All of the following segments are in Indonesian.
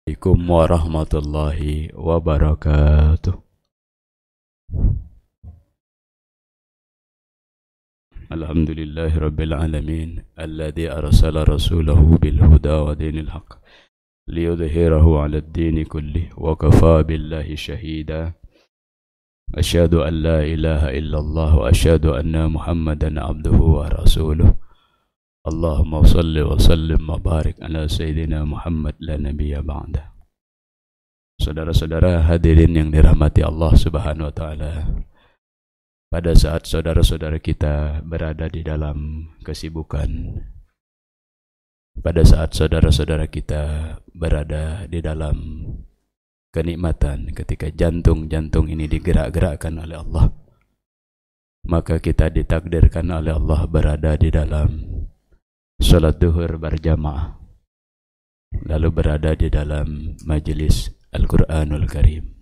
Assalamualaikum warahmatullahi wabarakatuh. Alhamdulillahi rabbil alamin alladzi arsala rasulahu bil huda wa dinil haqq liyudhhirahu 'alad dini kullih wa kafaa billahi shahida. Asyhadu an la ilaha illallah wa asyhadu anna Muhammadan 'abduhu wa rasuluh. Allahumma shalli wa sallim wa barik ala sayyidina Muhammad la nabiyya ba'da. Saudara-saudara hadirin yang dirahmati Allah Subhanahu wa taala. Pada saat saudara-saudara kita berada di dalam kesibukan, pada saat saudara-saudara kita berada di dalam kenikmatan, ketika jantung-jantung ini digerak-gerakkan oleh Allah, maka kita ditakdirkan oleh Allah berada di dalam salat duhur berjamaah, lalu berada di dalam majelis Al-Quranul Karim.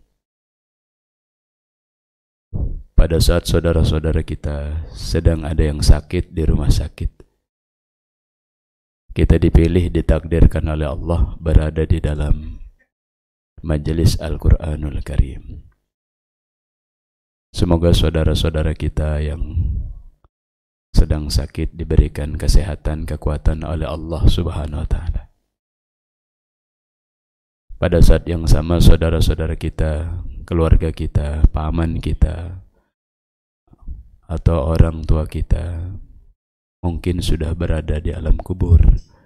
Pada saat saudara-saudara kita sedang ada yang sakit di rumah sakit, kita dipilih, ditakdirkan oleh Allah berada di dalam majelis Al-Quranul Karim. Semoga saudara-saudara kita yang sedang sakit diberikan kesehatan, kekuatan oleh Allah Subhanahu wa taala. Pada saat yang sama saudara-saudara kita, keluarga kita, paman kita, atau orang tua kita mungkin sudah berada di alam kubur.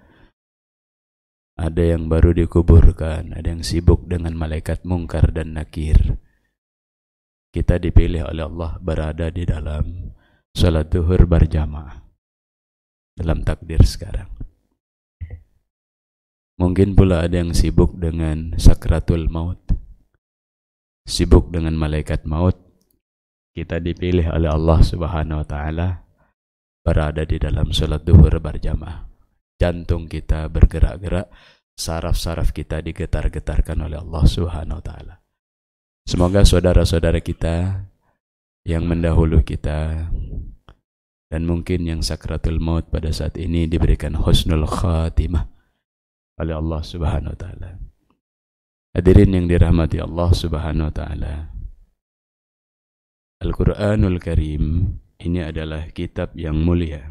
Ada yang baru dikuburkan, ada yang sibuk dengan malaikat mungkar dan nakir. Kita dipilih oleh Allah berada di dalam salat duhur berjamaah dalam takdir sekarang. Mungkin pula ada yang sibuk dengan sakratul maut, sibuk dengan malaikat maut. Kita dipilih oleh Allah Subhanahu wa taala berada di dalam salat duhur berjamaah. Jantung kita bergerak-gerak, saraf-saraf kita digetar-getarkan oleh Allah Subhanahu wa taala. Semoga saudara-saudara kita yang mendahulu kita dan mungkin yang sakratul maut pada saat ini diberikan husnul khatimah oleh Allah Subhanahu wa taala. Hadirin yang dirahmati Allah Subhanahu wa taala. Al-Quranul Karim ini adalah kitab yang mulia,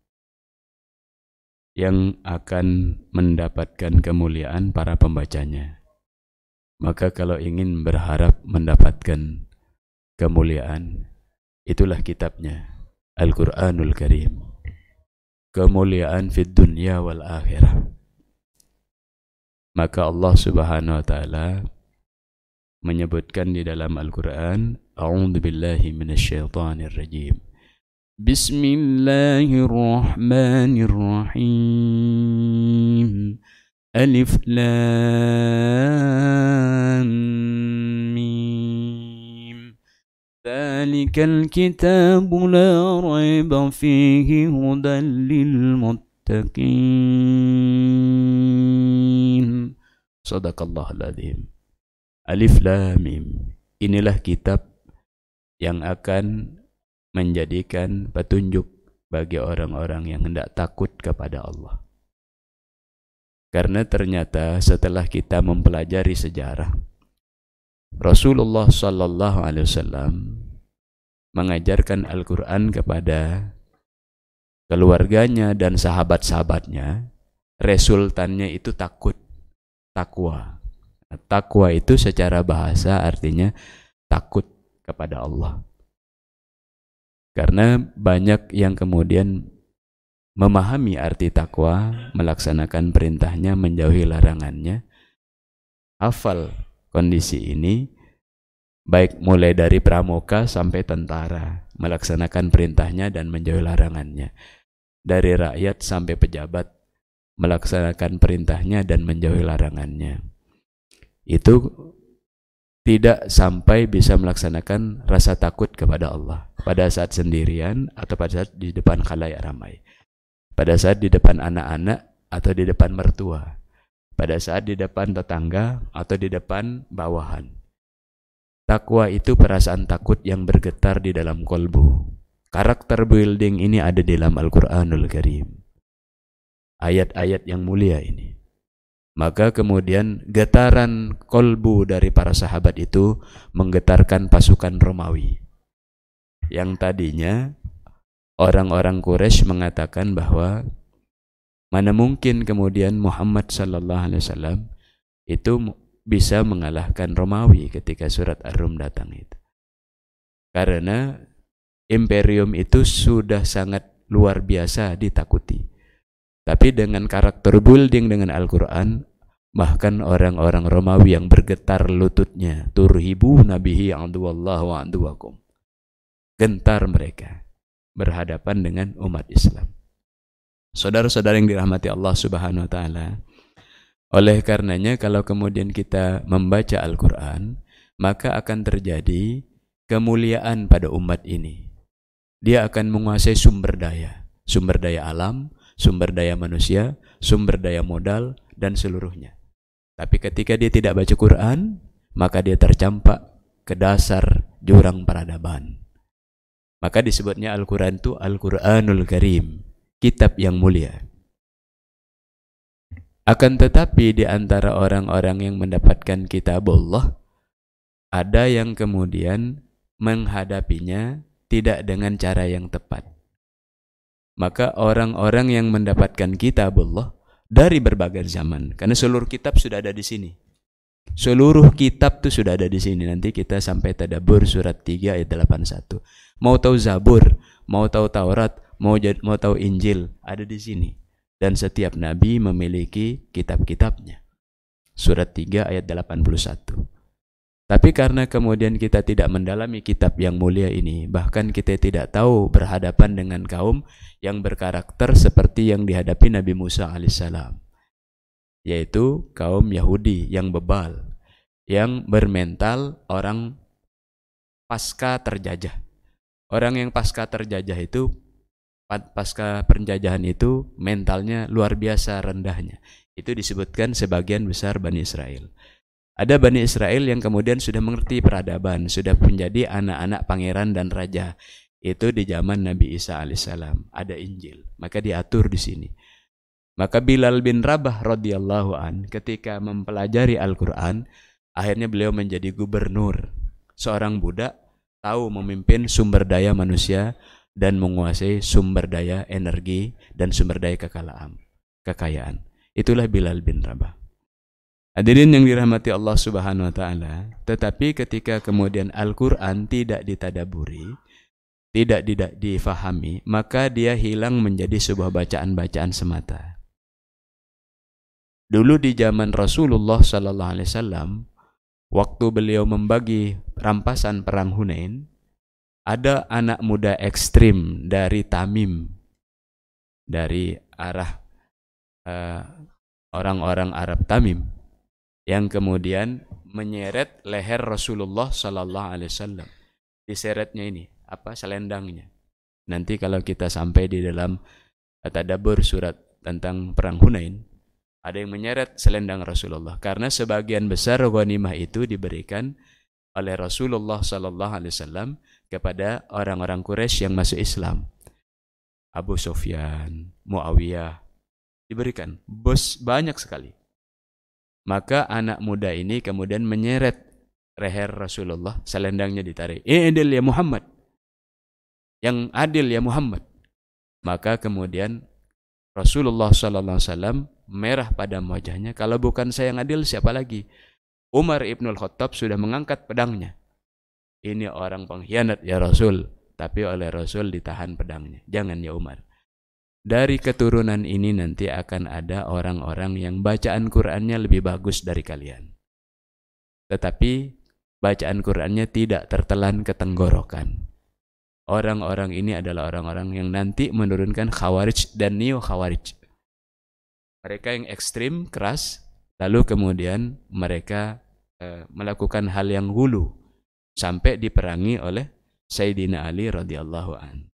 yang akan mendapatkan kemuliaan para pembacanya. Maka kalau ingin berharap mendapatkan kemuliaan, itulah kitabnya, Al-Quranul Karim. Kemuliaan fid dunya wal akhirah. Maka Allah Subhanahu wa taala menyebutkan di dalam Al-Quran, A'udzu billahi minasyaitonir rajim. Bismillahirrahmanirrahim. Alif Lam Mim. Dzalikal kitabu la raiba fihi hudan lil muttaqin. Shadaqallahul adzim. Alif Lam Mim. Inilah kitab yang akan menjadikan petunjuk bagi orang-orang yang hendak takut kepada Allah. Karena ternyata setelah kita mempelajari sejarah, Rasulullah sallallahu alaihi wasallam mengajarkan Al-Quran kepada keluarganya dan sahabat-sahabatnya. Resultannya itu takwa. Takwa itu secara bahasa artinya takut kepada Allah. Karena banyak yang kemudian memahami arti takwa, melaksanakan perintahnya, menjauhi larangannya, hafal kondisi ini, baik mulai dari pramuka sampai tentara, melaksanakan perintahnya dan menjauhi larangannya. Dari rakyat sampai pejabat, melaksanakan perintahnya dan menjauhi larangannya. Itu tidak sampai bisa melaksanakan rasa takut kepada Allah pada saat sendirian atau pada saat di depan khalayak ramai, pada saat di depan anak-anak atau di depan mertua, pada saat di depan tetangga atau di depan bawahan. Takwa itu perasaan takut yang bergetar di dalam kolbu. Karakter building ini ada di dalam Al-Quranul Karim. Ayat-ayat yang mulia ini Maka kemudian getaran kolbu dari para sahabat itu menggetarkan pasukan Romawi. Yang tadinya orang-orang Quraisy mengatakan bahwa mana mungkin kemudian Muhammad sallallahu alaihi wasallam itu bisa mengalahkan Romawi ketika surat Ar-Rum datang itu. Karena imperium itu sudah sangat luar biasa ditakuti. Tapi dengan karakter building dengan Al-Quran, bahkan orang-orang Romawi yang bergetar lututnya, turhibu nabihi aduwallahu wa aduwakum. Gentar mereka berhadapan dengan umat Islam. Saudara-saudara yang dirahmati Allah Subhanahu wa taala, oleh karenanya kalau kemudian kita membaca Al-Quran, maka akan terjadi kemuliaan pada umat ini. Dia akan menguasai sumber daya alam, sumber daya manusia, sumber daya modal, dan seluruhnya. Tapi ketika dia tidak baca Quran, maka dia tercampak ke dasar jurang peradaban. Maka disebutnya Al-Quran itu Al-Quranul Karim, kitab yang mulia. Akan tetapi di antara orang-orang yang mendapatkan kitab Allah, ada yang kemudian menghadapinya tidak dengan cara yang tepat. Maka orang-orang yang mendapatkan kitab Allah dari berbagai zaman, karena seluruh kitab sudah ada di sini. Seluruh kitab itu sudah ada di sini. Nanti kita sampai Tadabbur surat 3 ayat 81. Mau tahu Zabur, mau tahu Taurat, mau tahu Injil, ada di sini. Dan setiap nabi memiliki kitab-kitabnya. Surat 3 ayat 81. Tapi karena kemudian kita tidak mendalami kitab yang mulia ini, bahkan kita tidak tahu berhadapan dengan kaum yang berkarakter seperti yang dihadapi Nabi Musa alaihissalam, yaitu kaum Yahudi yang bebal, yang bermental orang pasca terjajah. Orang yang pasca terjajah itu, pasca penjajahan itu mentalnya luar biasa rendahnya. Itu disebutkan sebagian besar Bani Israel. Ada Bani Israel yang kemudian sudah mengerti peradaban, sudah menjadi anak-anak pangeran dan raja. Itu di zaman Nabi Isa alaihissalam. Ada Injil, maka diatur di sini. Maka Bilal bin Rabah radhiyallahu an ketika mempelajari Al-Quran, akhirnya beliau menjadi gubernur. Seorang budak tahu memimpin sumber daya manusia dan menguasai sumber daya energi dan sumber daya kekayaan. Itulah Bilal bin Rabah. Hadirin yang dirahmati Allah Subhanahu wa taala, tetapi ketika kemudian Al-Qur'an tidak ditadaburi, tidak difahami, maka dia hilang menjadi sebuah bacaan-bacaan semata. Dulu di zaman Rasulullah sallallahu alaihi wasallam, waktu beliau membagi rampasan perang Hunain, ada anak muda ekstrim dari Tamim, dari arah orang-orang Arab Tamim, yang kemudian menyeret leher Rasulullah sallallahu alaihi wasallam. Diseretnya ini apa? Selendangnya. Nanti kalau kita sampai di dalam Tadabbur surat tentang perang Hunain, ada yang menyeret selendang Rasulullah karena sebagian besar ghanimah itu diberikan oleh Rasulullah sallallahu alaihi wasallam kepada orang-orang Quraisy yang masuk Islam. Abu Sufyan, Muawiyah diberikan, bos banyak sekali. Maka anak muda ini kemudian menyeret leher Rasulullah, selendangnya ditarik. Adil ya Muhammad. Yang adil ya Muhammad. Maka kemudian Rasulullah sallallahu alaihi wasallam merah pada wajahnya. Kalau bukan saya yang adil, siapa lagi? Umar ibnul Khattab sudah mengangkat pedangnya. Ini orang pengkhianat ya Rasul. Tapi oleh Rasul ditahan pedangnya. Jangan ya Umar. Dari keturunan ini nanti akan ada orang-orang yang bacaan Qur'annya lebih bagus dari kalian. Tetapi bacaan Qur'annya tidak tertelan ke tenggorokan. Orang-orang ini adalah orang-orang yang nanti menurunkan Khawarij dan Neo Khawarij. Mereka yang ekstrim, keras, lalu kemudian mereka melakukan hal yang hulu sampai diperangi oleh Sayyidina Ali radhiyallahu an.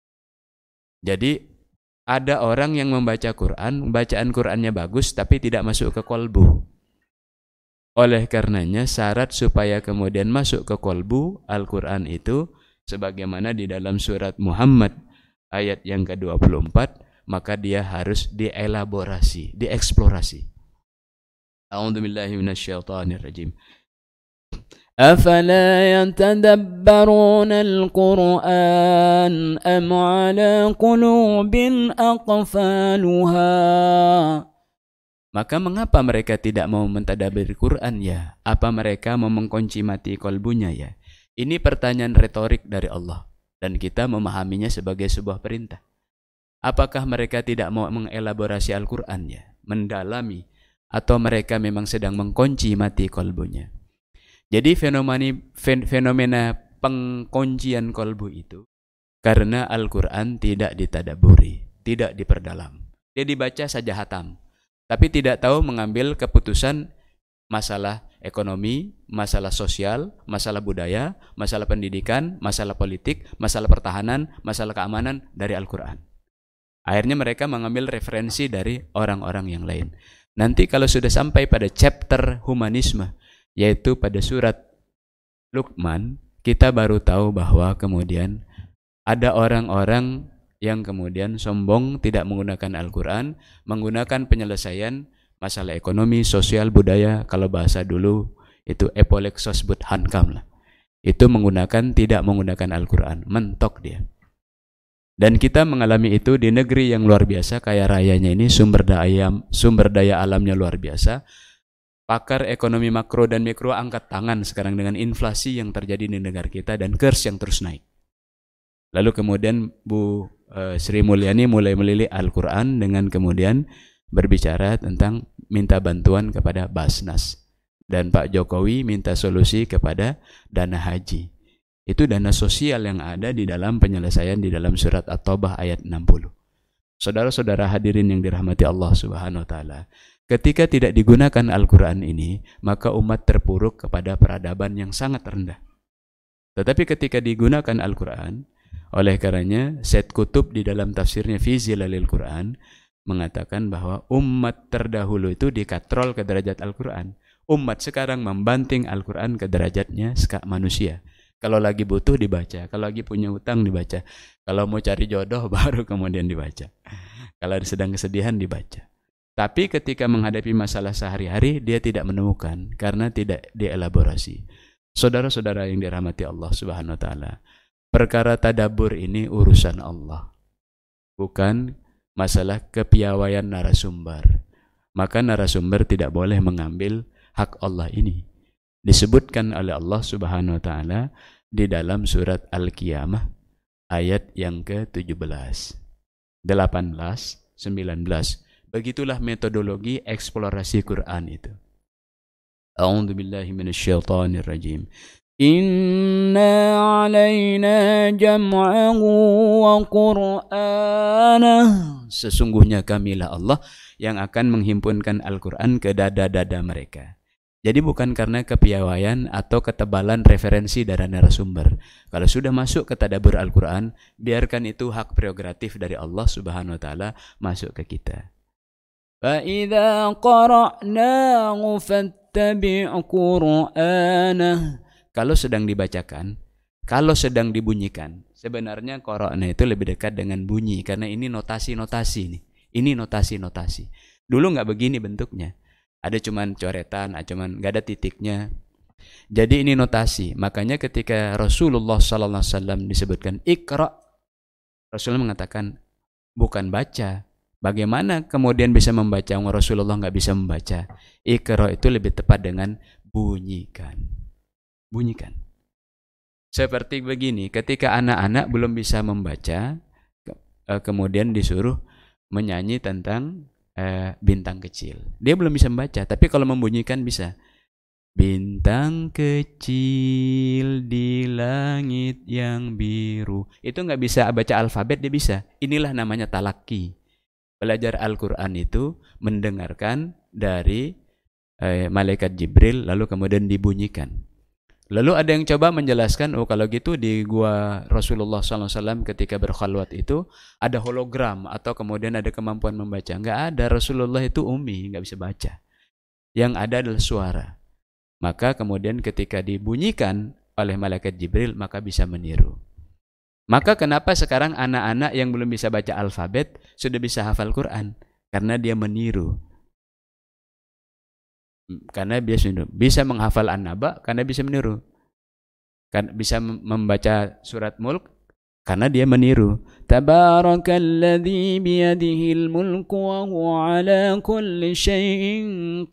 Jadi ada orang yang membaca Quran, bacaan Qurannya bagus tapi tidak masuk ke kolbu. Oleh karenanya syarat supaya kemudian masuk ke kolbu Al-Quran itu, sebagaimana di dalam surat Muhammad ayat yang ke-24, maka dia harus dielaborasi, dieksplorasi. A'udzu billahi minasyaitonir rajim. أفلا يتدبرون القرآن أم على قلوب أقفالها. Maka mengapa mereka tidak mau mentadaburi Quran ya? Apa mereka mau mengkunci mati kolbunya ya? Ini pertanyaan retorik dari Allah dan kita memahaminya sebagai sebuah perintah. Apakah mereka tidak mau mengelaborasi Al-Quran ya? Mendalami, atau mereka memang sedang mengkunci mati kolbunya? Jadi fenomena pengkuncian kolbu itu karena Al-Quran tidak ditadaburi, tidak diperdalam. Dia dibaca saja hatam, tapi tidak tahu mengambil keputusan masalah ekonomi, masalah sosial, masalah budaya, masalah pendidikan, masalah politik, masalah pertahanan, masalah keamanan dari Al-Quran. Akhirnya mereka mengambil referensi dari orang-orang yang lain. Nanti kalau sudah sampai pada chapter humanisme, yaitu pada surat Luqman, kita baru tahu bahwa kemudian ada orang-orang yang kemudian sombong tidak menggunakan Al-Quran, menggunakan penyelesaian masalah ekonomi, sosial, budaya. Kalau bahasa dulu itu epolexos but hankam lah. Itu tidak menggunakan Al-Quran, mentok dia. Dan kita mengalami itu di negeri yang luar biasa, kaya rayanya ini, sumber daya alamnya luar biasa. Pakar ekonomi makro dan mikro angkat tangan sekarang dengan inflasi yang terjadi di negara kita dan kurs yang terus naik. Lalu kemudian Bu Sri Mulyani mulai melilik Al-Quran dengan kemudian berbicara tentang minta bantuan kepada Basnas. Dan Pak Jokowi minta solusi kepada dana haji. Itu dana sosial yang ada di dalam penyelesaian di dalam surat At-Taubah ayat 60. Saudara-saudara hadirin yang dirahmati Allah Subhanahu wa taala, ketika tidak digunakan Al-Quran ini, maka umat terpuruk kepada peradaban yang sangat rendah. Tetapi ketika digunakan Al-Quran, oleh karenanya Said Qutb di dalam tafsirnya Fi Zilalil Quran mengatakan bahwa umat terdahulu itu dikatrol ke derajat Al-Quran. Umat sekarang membanting Al-Quran ke derajatnya manusia. Kalau lagi butuh dibaca, kalau lagi punya utang dibaca, kalau mau cari jodoh baru kemudian dibaca, kalau sedang kesedihan dibaca. Tapi ketika menghadapi masalah sehari-hari dia tidak menemukan karena tidak dielaborasi. Saudara-saudara yang dirahmati Allah Subhanahu wa taala, perkara tadabbur ini urusan Allah, bukan masalah kepiawaian narasumber. Maka narasumber tidak boleh mengambil hak Allah ini. Disebutkan oleh Allah Subhanahu wa taala di dalam surat Al-Qiyamah ayat yang ke-17, 18, 19. Begitulah metodologi eksplorasi Quran itu. A'udzu billahi minasyaitonir rajim. Inna 'alaina jam'ahu wa Qur'anah. Sesungguhnya kamilah Allah yang akan menghimpunkan Al-Quran ke dada-dada mereka. Jadi bukan karena kepiawaian atau ketebalan referensi dari narasumber. Kalau sudah masuk ke tadabbur Al-Quran, biarkan itu hak prerogatif dari Allah Subhanahu wa taala masuk ke kita. Fa idza qara'nahu fattabi' Qur'anah. Kalau sedang dibacakan, kalau sedang dibunyikan, sebenarnya qara'na itu lebih dekat dengan bunyi karena ini notasi-notasi nih. Ini notasi-notasi. Dulu enggak begini bentuknya. Ada cuman coretan, cuman enggak ada titiknya. Jadi ini notasi. Makanya ketika Rasulullah sallallahu alaihi wasallam disebutkan Iqra, Rasulullah mengatakan bukan baca. Bagaimana kemudian bisa membaca? Rasulullah enggak bisa membaca. Iqra itu lebih tepat dengan bunyikan. Bunyikan. Seperti begini, ketika anak-anak belum bisa membaca, kemudian disuruh menyanyi tentang bintang kecil. Dia belum bisa membaca, tapi kalau membunyikan bisa. Bintang kecil di langit yang biru. Itu nggak bisa baca alfabet, dia bisa. Inilah namanya talaki. Belajar Al-Quran itu mendengarkan dari malaikat Jibril, lalu kemudian dibunyikan. Lalu ada yang coba menjelaskan, oh kalau gitu di gua Rasulullah SAW ketika berkhalwat itu ada hologram atau kemudian ada kemampuan membaca. Enggak ada, Rasulullah itu ummi, enggak bisa baca. Yang ada adalah suara. Maka kemudian ketika dibunyikan oleh malaikat Jibril, maka bisa meniru. Maka kenapa sekarang anak-anak yang belum bisa baca alfabet, sudah bisa hafal Quran? Karena dia meniru. karena bisa menghafal An-Naba karena bisa meniru. Kan bisa membaca surat Mulk karena dia meniru. Tabarakalladzi biyadihil mulku wa huwa ala kulli syai'in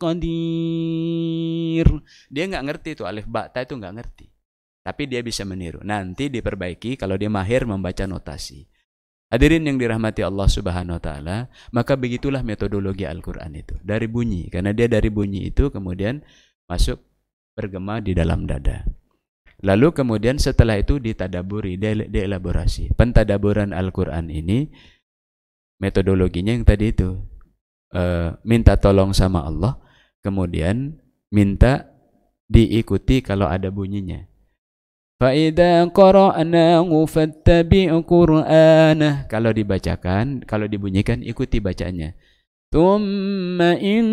qadir. Dia nggak ngerti itu alif ba ta itu nggak ngerti. Tapi dia bisa meniru. Nanti diperbaiki kalau dia mahir membaca notasi. Hadirin yang dirahmati Allah Subhanahu wa taala, maka begitulah metodologi Al-Qur'an itu. Dari bunyi, karena dia dari bunyi itu kemudian masuk bergema di dalam dada. Lalu kemudian setelah itu ditadaburi, dielaborasi. Pentadaburan Al-Qur'an ini metodologinya yang tadi itu. Minta tolong sama Allah, kemudian minta diikuti kalau ada bunyinya. Fa'idha qara'nahu fattabi' qur'anah. Kalau dibacakan, kalau dibunyikan, ikuti bacanya. Thumma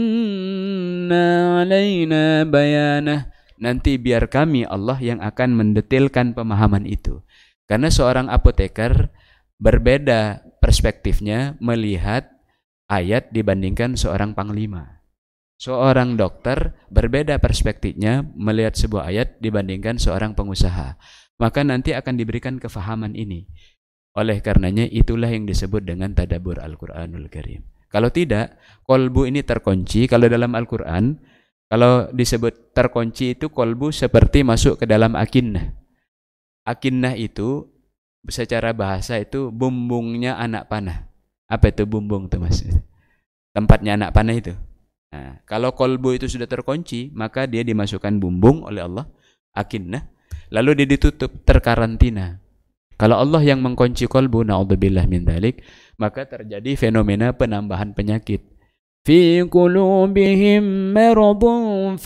inna alaina bayanah. Nanti biar kami Allah yang akan mendetailkan pemahaman itu. Karena seorang apoteker berbeda perspektifnya melihat ayat dibandingkan seorang panglima. Seorang dokter berbeda perspektifnya melihat sebuah ayat dibandingkan seorang pengusaha. Maka nanti akan diberikan kefahaman ini. Oleh karenanya itulah yang disebut dengan tadabbur Al-Qur'anul Karim. Kalau tidak, kolbu ini terkunci. Kalau dalam Al-Qur'an, kalau disebut terkunci itu kolbu seperti masuk ke dalam akinnah. Akinnah itu secara bahasa itu bumbungnya anak panah. Apa itu bumbung itu Mas? Tempatnya anak panah itu. Nah, kalau kolbu itu sudah terkunci, maka dia dimasukkan bumbung oleh Allah, akinnah, lalu dia ditutup, terkarantina. Kalau Allah yang mengkunci kolbu, na'udzubillah min dzalik, maka terjadi fenomena penambahan penyakit. Fi qulubihim maradun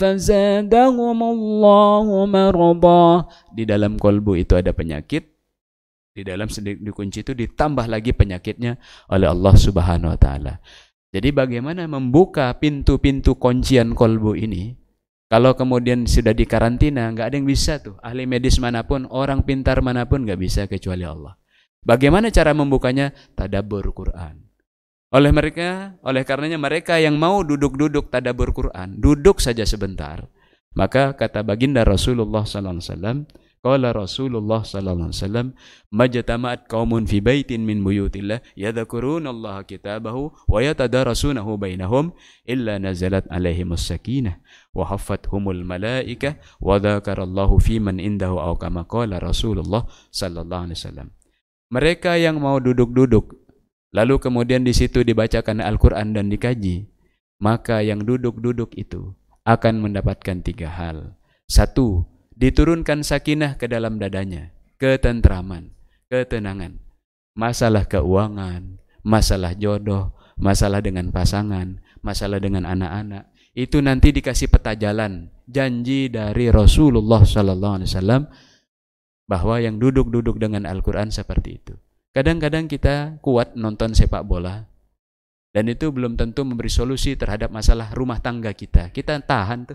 fazadahumullahu marada. Di dalam kolbu itu ada penyakit, di dalam dikunci itu ditambah lagi penyakitnya oleh Allah Subhanahu wa taala. Jadi bagaimana membuka pintu-pintu kuncian kolbu ini? Kalau kemudian sudah dikarantina, nggak ada yang bisa tuh. Ahli medis manapun, orang pintar manapun nggak bisa kecuali Allah. Bagaimana cara membukanya? Tadabbur Quran. Oleh karenanya mereka yang mau duduk-duduk tadabbur Quran, duduk saja sebentar. Maka kata baginda Rasulullah sallallahu alaihi wasallam, qala Rasulullah sallallahu alaihi wasallam, majtama'at qaumun fi baitin min buyutillah yadhkurunallaha kitabahu wa yatadarasunahu bainahum illa nazalat alaihimus sakinah wa haffathumul malaikah wa dzakarallahu fi man indahu aw kama qala Rasulullah sallallahu alaihi wasallam. Mereka yang mau duduk-duduk lalu kemudian di situ dibacakan Al-Qur'an dan dikaji, maka yang duduk-duduk itu akan mendapatkan 3 hal. 1, diturunkan sakinah ke dalam dadanya, ketentraman, ketenangan. Masalah keuangan, masalah jodoh, masalah dengan pasangan, masalah dengan anak-anak, itu nanti dikasih peta jalan, janji dari Rasulullah sallallahu alaihi wasallam bahwa yang duduk-duduk dengan Al-Qur'an seperti itu. Kadang-kadang kita kuat nonton sepak bola dan itu belum tentu memberi solusi terhadap masalah rumah tangga kita. Kita tahan tuh.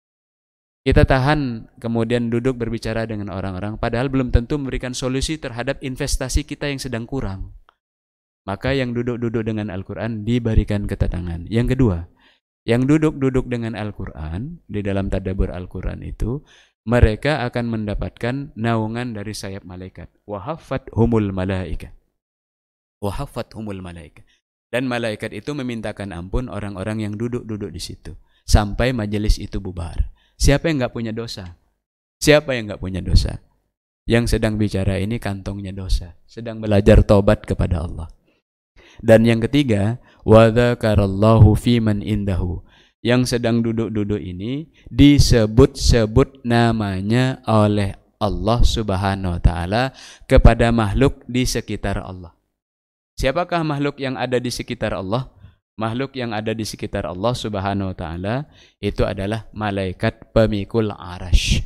Kita tahan kemudian duduk berbicara dengan orang-orang padahal belum tentu memberikan solusi terhadap investasi kita yang sedang kurang. Maka yang duduk-duduk dengan Al-Qur'an diberikan ketenangan. Yang kedua, yang duduk-duduk dengan Al-Qur'an di dalam tadabbur Al-Qur'an itu mereka akan mendapatkan naungan dari sayap malaikat. Wa haffathumul malaikah. Wa haffathumul malaikah. Dan malaikat itu memintakan ampun orang-orang yang duduk-duduk di situ sampai majelis itu bubar. Siapa yang enggak punya dosa? Siapa yang enggak punya dosa? Yang sedang bicara ini kantongnya dosa, sedang belajar taubat kepada Allah. Dan yang ketiga, wa dzakarallahu fi man indahu. Yang sedang duduk-duduk ini disebut-sebut namanya oleh Allah Subhanahu wa taala kepada makhluk di sekitar Allah. Siapakah makhluk yang ada di sekitar Allah? Makhluk yang ada di sekitar Allah Subhanahu wa taala itu adalah malaikat pemikul arasy.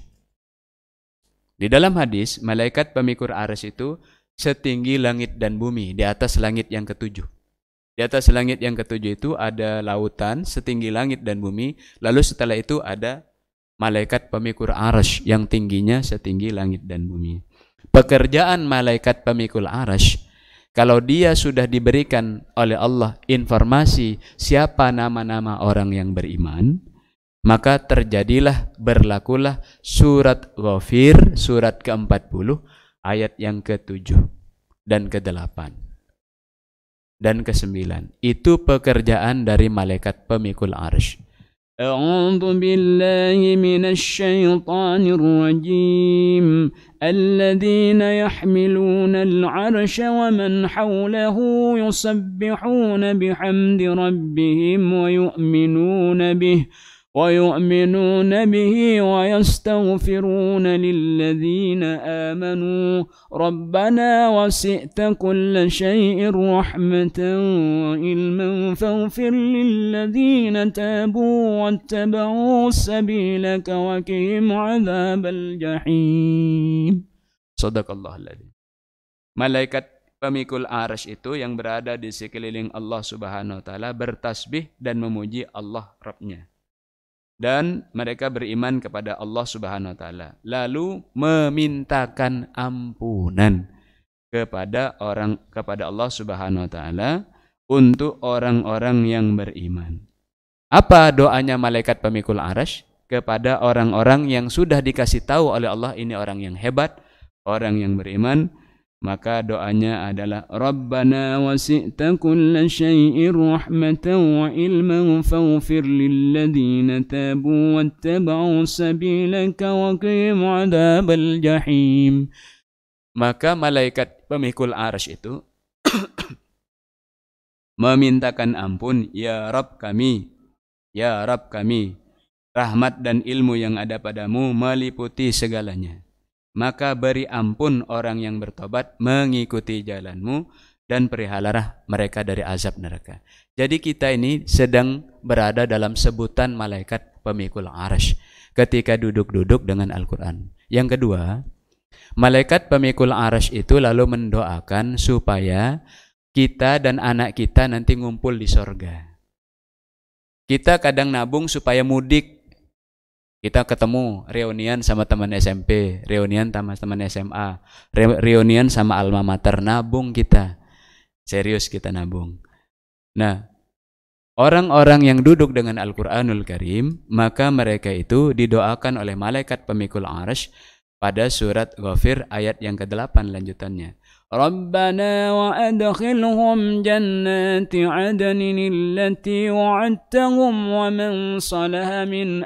Di dalam hadis, malaikat pemikul arasy itu setinggi langit dan bumi, di atas langit yang ketujuh. Di atas langit yang ketujuh itu ada lautan setinggi langit dan bumi. Lalu setelah itu ada malaikat pemikul arasy yang tingginya setinggi langit dan bumi. Pekerjaan malaikat pemikul arasy, kalau dia sudah diberikan oleh Allah informasi siapa nama-nama orang yang beriman, maka terjadilah, berlakulah surat Ghafir, surat ke-40, ayat yang ke-7 dan ke-8 dan ke-9. Itu pekerjaan dari malaikat pemikul arsy. A'udzu billahi minasy syaithanir rajim. Alladzina yahmiluna al-'arsya wa man hawlahu yusabbihuna bihamdi rabbihim ويؤمنون به ويستغفرون للذين آمنوا ربنا وسعت كل شيء رحمة وعلما فاغفر للذين تابوا واتبعوا سبيلك وقهم عذاب الجحيم. Shadaqallahul-adzim. Malaikat pemikul arsy itu yang berada di sekeliling Allah Subhanahu wa taala bertasbih dan memuji Allah Rabb-nya. Dan mereka beriman kepada Allah Subhanahu wa taala, lalu memintakan ampunan kepada Allah Subhanahu wa taala untuk orang-orang yang beriman. Apa doanya malaikat pemikul arsy kepada orang-orang yang sudah dikasih tahu oleh Allah ini orang yang hebat, orang yang beriman? Maka doanya adalah Rabbana wasi'ta kulla syai'in rahmatan wa ilman faghfir lilladzina tabu wattaba'u sabilaka wa qihim 'adzabal jahim. Maka malaikat pemikul arsy itu memintakan ampun, ya Rabb kami, rahmat dan ilmu yang ada padamu meliputi segalanya. Maka beri ampun orang yang bertobat mengikuti jalanmu dan peliharalah mereka dari azab neraka. Jadi kita ini sedang berada dalam sebutan malaikat pemikul arsy ketika duduk-duduk dengan Al-Quran. Yang kedua, malaikat pemikul arsy itu lalu mendoakan supaya kita dan anak kita nanti ngumpul di sorga. Kita kadang nabung supaya mudik. Kita ketemu reunian sama teman SMP, reunian sama teman SMA, reunian sama alma mater, nabung kita. Serius kita nabung. Nah, orang-orang yang duduk dengan Al-Qur'anul Karim, maka mereka itu didoakan oleh malaikat pemikul arsy pada surat Ghafir ayat yang ke-8 lanjutannya. Rabbana wa adkhilhum jannati 'adnin allati wa'adtahum wa man salaha min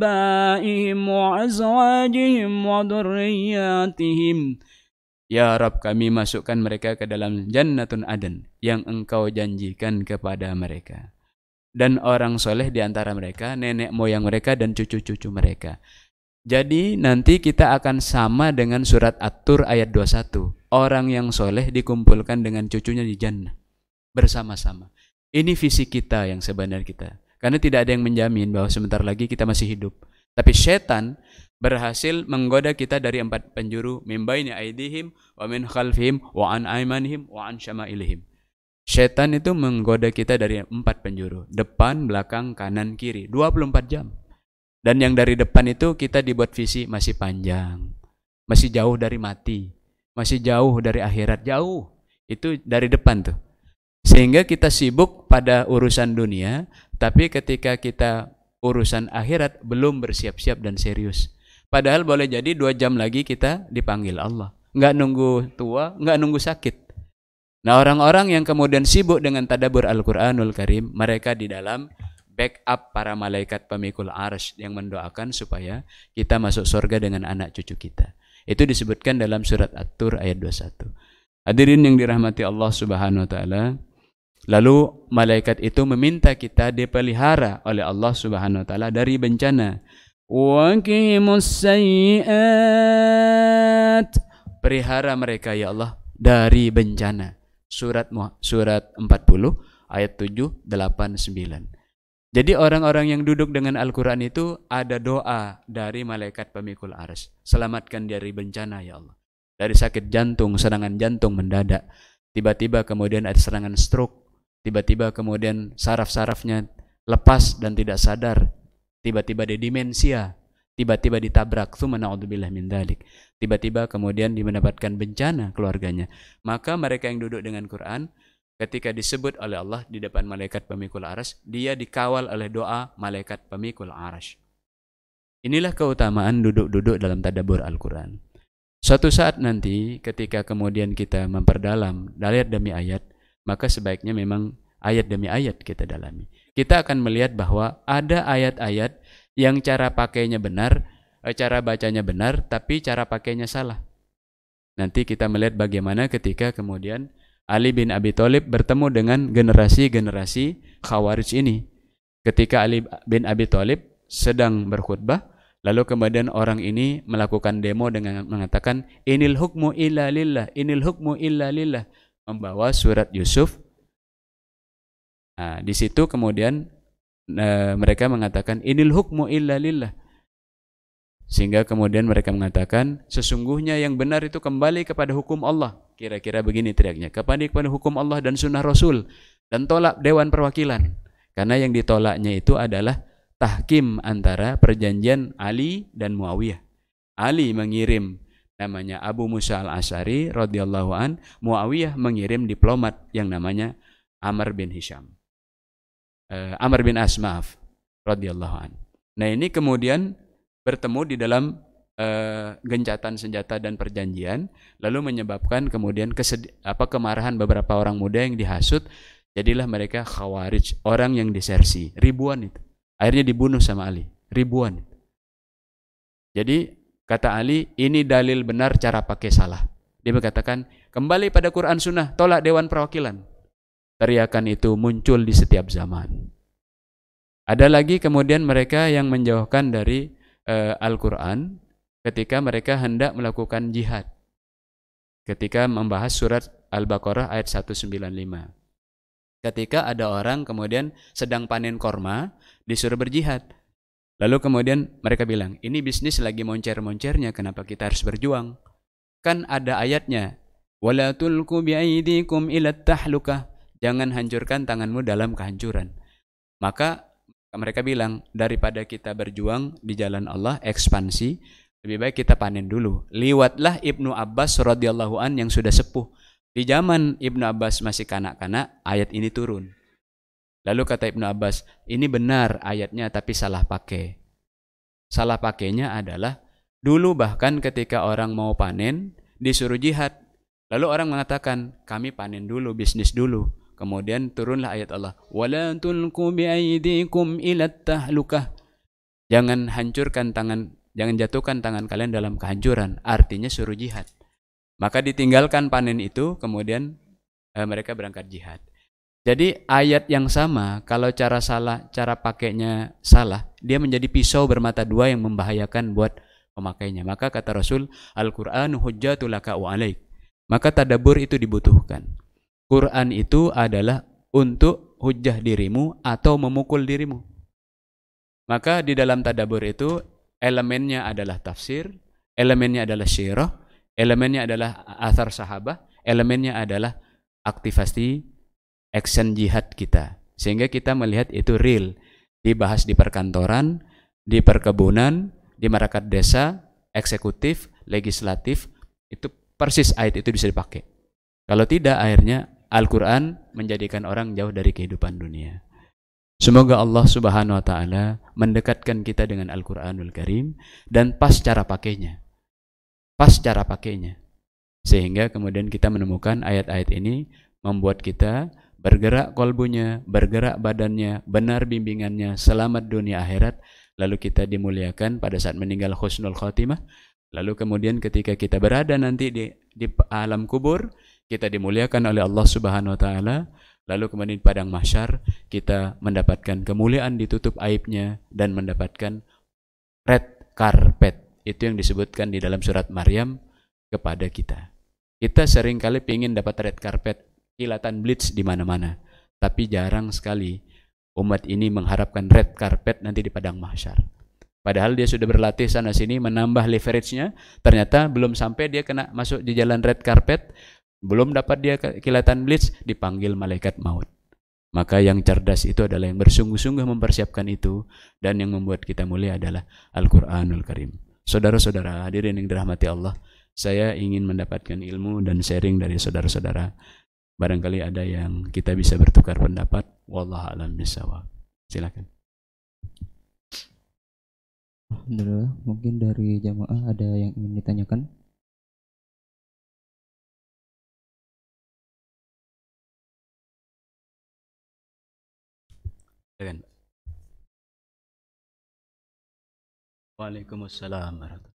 abaihim wa azwajihim wa dhurriyyatihim. Ya Rabb, kami masukkan mereka ke dalam jannatun aden yang engkau janjikan kepada mereka. Dan orang soleh di antara mereka, nenek moyang mereka dan cucu-cucu mereka. Jadi nanti kita akan sama dengan surat At-Tur ayat 21. Orang yang soleh dikumpulkan dengan cucunya di jannah bersama-sama. Ini visi kita yang sebenarnya kita. Karena tidak ada yang menjamin bahwa sebentar lagi kita masih hidup. Tapi setan berhasil menggoda kita dari 4 penjuru, min baini aidihim wa min khalfihim wa an aymanihim wa an syama'ilihim. Setan itu menggoda kita dari 4 penjuru, depan, belakang, kanan, kiri, 24 jam. Dan yang dari depan itu kita dibuat visi masih panjang, masih jauh dari mati, masih jauh dari akhirat, jauh. Itu dari depan tuh. Sehingga kita sibuk pada urusan dunia, tapi ketika kita urusan akhirat belum bersiap-siap dan serius. Padahal boleh jadi 2 jam lagi kita dipanggil Allah. Nggak nunggu tua, nggak nunggu sakit. Nah, orang-orang yang kemudian sibuk dengan tadabbur Al-Qur'anul Karim, mereka di dalam backup para malaikat pemikul arsy yang mendoakan supaya kita masuk surga dengan anak cucu kita. Itu disebutkan dalam surat At-Tur ayat 21. Hadirin yang dirahmati Allah Subhanahu wa taala, lalu malaikat itu meminta kita dipelihara oleh Allah Subhanahu wa taala dari bencana. Wa qimus sayyi'at. Pelihara mereka ya Allah dari bencana. Surat 40 ayat 7, 8, 9. Jadi orang-orang yang duduk dengan Al-Quran itu ada doa dari malaikat pemikul arsy. Selamatkan dari bencana ya Allah. Dari sakit jantung, serangan jantung mendadak. Tiba-tiba kemudian ada serangan stroke. Tiba-tiba kemudian saraf-sarafnya lepas dan tidak sadar. Tiba-tiba dia demensia. Tiba-tiba ditabrak. Tsumma na'udzubillah min dzalik. Tiba-tiba kemudian dia mendapatkan bencana keluarganya. Maka mereka yang duduk dengan Quran, ketika disebut oleh Allah di depan malaikat pemikul arsy, dia dikawal oleh doa malaikat pemikul arsy. Inilah keutamaan duduk-duduk dalam tadabbur Al-Quran. Suatu saat nanti ketika kemudian kita memperdalam ayat demi ayat, maka sebaiknya memang ayat demi ayat kita dalami. Kita akan melihat bahwa ada ayat-ayat yang cara pakainya benar, cara bacanya benar, tapi cara pakainya salah. Nanti kita melihat bagaimana ketika kemudian Ali bin Abi Thalib bertemu dengan generasi-generasi Khawarij ini. Ketika Ali bin Abi Thalib sedang berkhutbah, lalu kemudian orang ini melakukan demo dengan mengatakan inil hukmu illa lillah, inil hukmu illa lillah, membawa surat Yusuf. Nah, di situ kemudian mereka mengatakan inil hukmu illa lillah. Sehingga kemudian mereka mengatakan sesungguhnya yang benar itu kembali kepada hukum Allah. Kira-kira begini teriaknya, kepada hukum Allah dan sunnah Rasul, dan tolak Dewan Perwakilan. Karena yang ditolaknya itu adalah tahkim antara perjanjian Ali dan Muawiyah. Ali mengirim namanya Abu Musa al-Asy'ari radhiyallahu an, Muawiyah mengirim diplomat yang namanya Amr bin Hisham. Amr bin As, maaf, radhiyallahu an. Nah, ini kemudian bertemu di dalam gencatan senjata dan perjanjian, lalu menyebabkan kemudian kemarahan beberapa orang muda yang dihasut, jadilah mereka Khawarij, orang yang disersi, ribuan itu. Akhirnya dibunuh sama Ali, ribuan. Jadi kata Ali, ini dalil benar, cara pakai salah. Dia mengatakan, kembali pada Quran Sunnah, tolak Dewan Perwakilan. Teriakan itu muncul di setiap zaman. Ada lagi kemudian mereka yang menjauhkan dari Al-Quran ketika mereka hendak melakukan jihad. Ketika membahas surat Al-Baqarah ayat 195. Ketika ada orang kemudian sedang panen korma, disuruh berjihad. Lalu kemudian mereka bilang, ini bisnis lagi moncer-moncernya, kenapa kita harus berjuang? Kan ada ayatnya, wala tulqu biaidikum ila tahlukah, jangan hancurkan tanganmu dalam kehancuran. Maka mereka bilang, daripada kita berjuang di jalan Allah, ekspansi, lebih baik kita panen dulu. Liwatlah Ibnu Abbas radhiyallahu an yang sudah sepuh. Di zaman Ibnu Abbas masih kanak-kanak, ayat ini turun. Lalu kata Ibnu Abbas, ini benar ayatnya tapi salah pakai. Salah pakainya adalah, dulu bahkan ketika orang mau panen, disuruh jihad. Lalu orang mengatakan, kami panen dulu, bisnis dulu. Kemudian turunlah ayat Allah, wala tulqu biaidikum ila tahlukah. Jangan hancurkan tangan, jangan jatuhkan tangan kalian dalam kehancuran. Artinya suruh jihad. Maka ditinggalkan panen itu, kemudian mereka berangkat jihad. Jadi ayat yang sama, kalau cara pakainya salah, dia menjadi pisau bermata dua yang membahayakan buat pemakainya. Maka kata Rasul, Al-Qur'anu hujjatul laka wa alaik. Maka tadabbur itu dibutuhkan. Quran itu adalah untuk hujjah dirimu atau memukul dirimu. Maka di dalam tadabbur itu elemennya adalah tafsir, elemennya adalah syirah, elemennya adalah athar sahabah, elemennya adalah aktivasi action jihad kita. Sehingga kita melihat itu real. Dibahas di perkantoran, di perkebunan, di markas desa, eksekutif, legislatif, itu persis ayat itu bisa dipakai. Kalau tidak, akhirnya Al-Quran menjadikan orang jauh dari kehidupan dunia. Semoga Allah Subhanahu wa Ta'ala mendekatkan kita dengan Al-Quranul Karim dan pas cara pakainya. Sehingga kemudian kita menemukan ayat-ayat ini membuat kita bergerak kolbunya, bergerak badannya, benar bimbingannya, selamat dunia akhirat. Lalu kita dimuliakan pada saat meninggal husnul khotimah. Lalu kemudian ketika kita berada nanti di alam kubur, kita dimuliakan oleh Allah Subhanahu wa Ta'ala. Lalu kemudian di padang mahsyar kita mendapatkan kemuliaan ditutup aibnya dan mendapatkan red carpet. Itu yang disebutkan di dalam surat Maryam kepada kita. Kita seringkali ingin dapat red carpet, kilatan blitz di mana-mana. Tapi jarang sekali umat ini mengharapkan red carpet nanti di padang mahsyar. Padahal dia sudah berlatih sana sini menambah leverage-nya, ternyata belum sampai dia kena masuk di jalan red carpet, belum dapat dia kilatan blitz, dipanggil malaikat maut. Maka yang cerdas itu adalah yang bersungguh-sungguh mempersiapkan itu, dan yang membuat kita mulia adalah Al-Quranul Karim. Saudara-saudara hadirin yang dirahmati Allah, saya ingin mendapatkan ilmu dan sharing dari saudara-saudara. Barangkali ada yang kita bisa bertukar pendapat. Wallahu a'lam bishawab. Silakan. Alhamdulillah, mungkin dari jamaah ada yang ingin ditanyakan. Silakan. Waalaikumsalam warahmatullahi.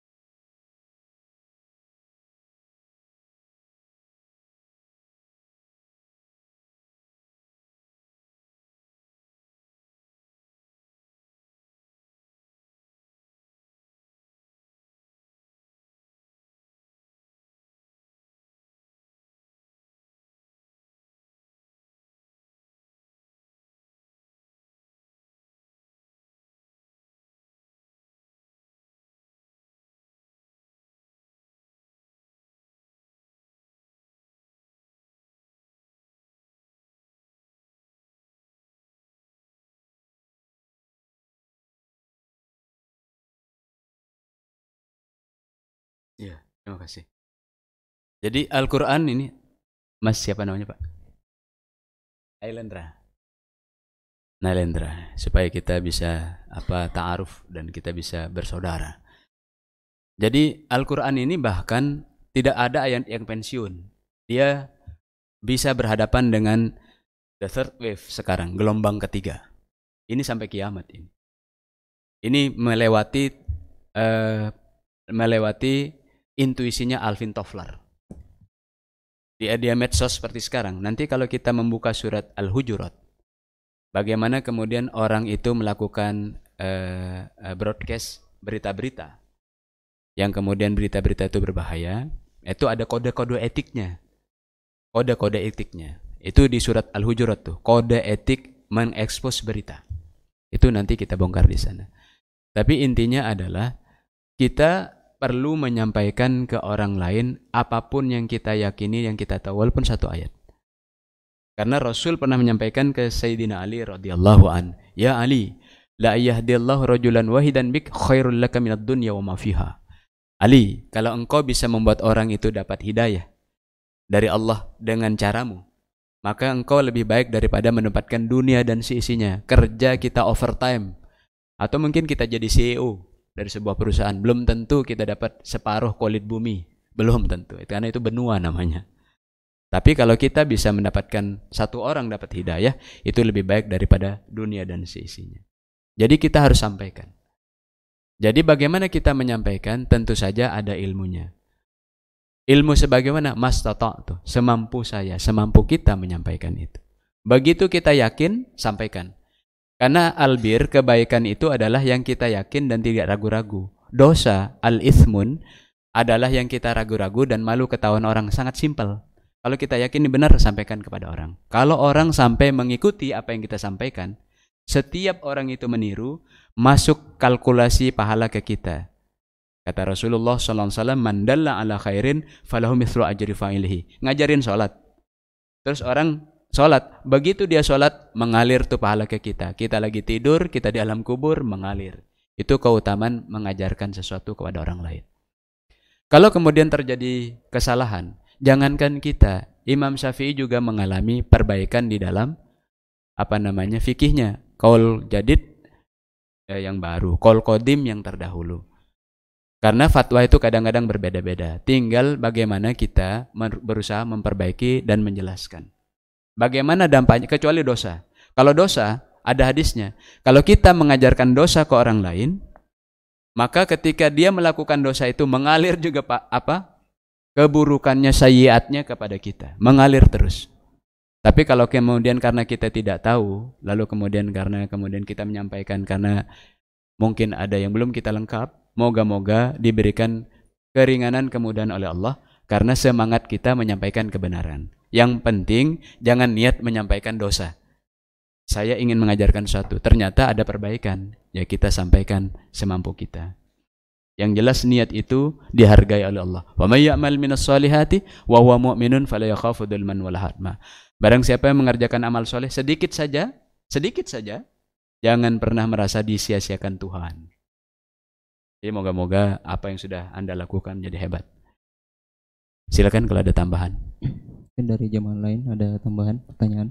Ya, terima kasih. Jadi Al-Quran ini, Mas siapa namanya Pak? Nailendra, supaya kita bisa ta'aruf dan kita bisa bersaudara. Jadi Al-Quran ini bahkan tidak ada ayat yang pensiun. Dia bisa berhadapan dengan the third wave sekarang, gelombang ketiga. Ini sampai kiamat ini. Ini melewati intuisinya Alvin Toffler. Dia medsos seperti sekarang. Nanti kalau kita membuka surat Al-Hujurat, bagaimana kemudian orang itu melakukan broadcast berita-berita, yang kemudian berita-berita itu berbahaya, itu ada kode-kode etiknya. Kode-kode etiknya. Itu di surat Al-Hujurat tuh, kode etik mengekspos berita. Itu nanti kita bongkar di sana. Tapi intinya adalah kita perlu menyampaikan ke orang lain apapun yang kita yakini, yang kita tahu, walaupun satu ayat. Karena Rasul pernah menyampaikan ke Sayyidina Ali radhiyallahu an, "Ya Ali, la yahdillahu rajulan wahidan bik khairul laka minad dunya wa ma fiha." Ali, kalau engkau bisa membuat orang itu dapat hidayah dari Allah dengan caramu, maka engkau lebih baik daripada menempatkan dunia dan seisinya. Kerja kita overtime, atau mungkin kita jadi CEO dari sebuah perusahaan, belum tentu kita dapat separuh kulit bumi, belum tentu, karena itu benua namanya. Tapi kalau kita bisa mendapatkan satu orang dapat hidayah, itu lebih baik daripada dunia dan seisinya. Jadi kita harus sampaikan. Jadi bagaimana kita menyampaikan? Tentu saja ada ilmunya. Ilmu sebagaimana mastata'tu, semampu saya, semampu kita menyampaikan itu. Begitu kita yakin, sampaikan. Karena albir, kebaikan itu adalah yang kita yakin dan tidak ragu-ragu. Dosa, al-ithmun, adalah yang kita ragu-ragu dan malu ketahuan orang. Sangat simpel. Kalau kita yakin ini benar, sampaikan kepada orang. Kalau orang sampai mengikuti apa yang kita sampaikan, setiap orang itu meniru, masuk kalkulasi pahala ke kita. Kata Rasulullah SAW, "Man dalla ala khairin falahu mithlu ajri fa'ilihi." Ngajarin sholat. Terus orang sholat, begitu dia sholat, mengalir tuh pahala ke kita. Kita lagi tidur, kita di alam kubur, mengalir. Itu keutamaan mengajarkan sesuatu kepada orang lain. Kalau kemudian terjadi kesalahan, jangankan kita, Imam Syafi'i juga mengalami perbaikan di dalam fikihnya. Qaul jadid yang baru, qaul qadim yang terdahulu. Karena fatwa itu kadang-kadang berbeda-beda. Tinggal bagaimana kita berusaha memperbaiki dan menjelaskan. Bagaimana dampaknya, kecuali dosa. Kalau dosa, ada hadisnya. Kalau kita mengajarkan dosa ke orang lain, maka ketika dia melakukan dosa itu mengalir juga keburukannya, sayyiatnya kepada kita. Mengalir terus. Tapi kalau kemudian karena kita tidak tahu, lalu kemudian kita menyampaikan karena mungkin ada yang belum kita lengkap, moga-moga diberikan keringanan kemudahan oleh Allah karena semangat kita menyampaikan kebenaran. Yang penting jangan niat menyampaikan dosa. Saya ingin mengajarkan sesuatu, ternyata ada perbaikan, ya kita sampaikan semampu kita. Yang jelas niat itu dihargai oleh Allah. Wa may ya'mal minas solihati wa huwa mu'minun fala yakhafu dzulman wala hadma. Barang siapa yang mengerjakan amal soleh sedikit saja, jangan pernah merasa disia-siakan Tuhan. Jadi moga-moga apa yang sudah Anda lakukan menjadi hebat. Silakan kalau ada tambahan. Mungkin dari jamaah lain ada tambahan pertanyaan?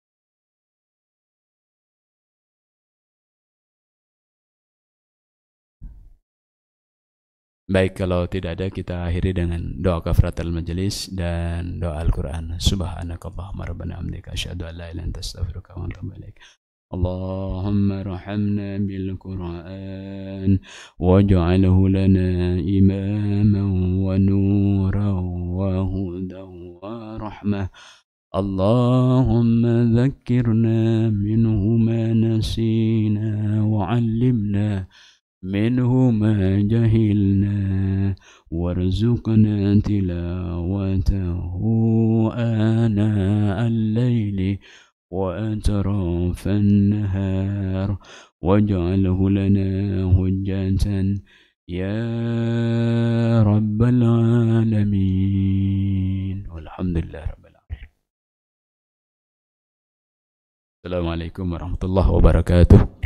Baik, kalau tidak ada kita akhiri dengan doa kafaratul majelis dan doa Al-Quran. Subhanakallahumma rabbana hamdika asyhadu an la ilaha illa anta astaghfiruka wa atubu ilaik. اللهم ارحمنا بالقرآن واجعله لنا إماما ونورا وهدى ورحمة. اللهم ذكرنا منه ما نسينا وعلمنا منه ما جهلنا وارزقنا تلاوته آناء الليل وأطراف النهار واجعله لنا حجة يا رب العالمين والحمد لله رب العالمين. السلام عليكم ورحمة الله وبركاته.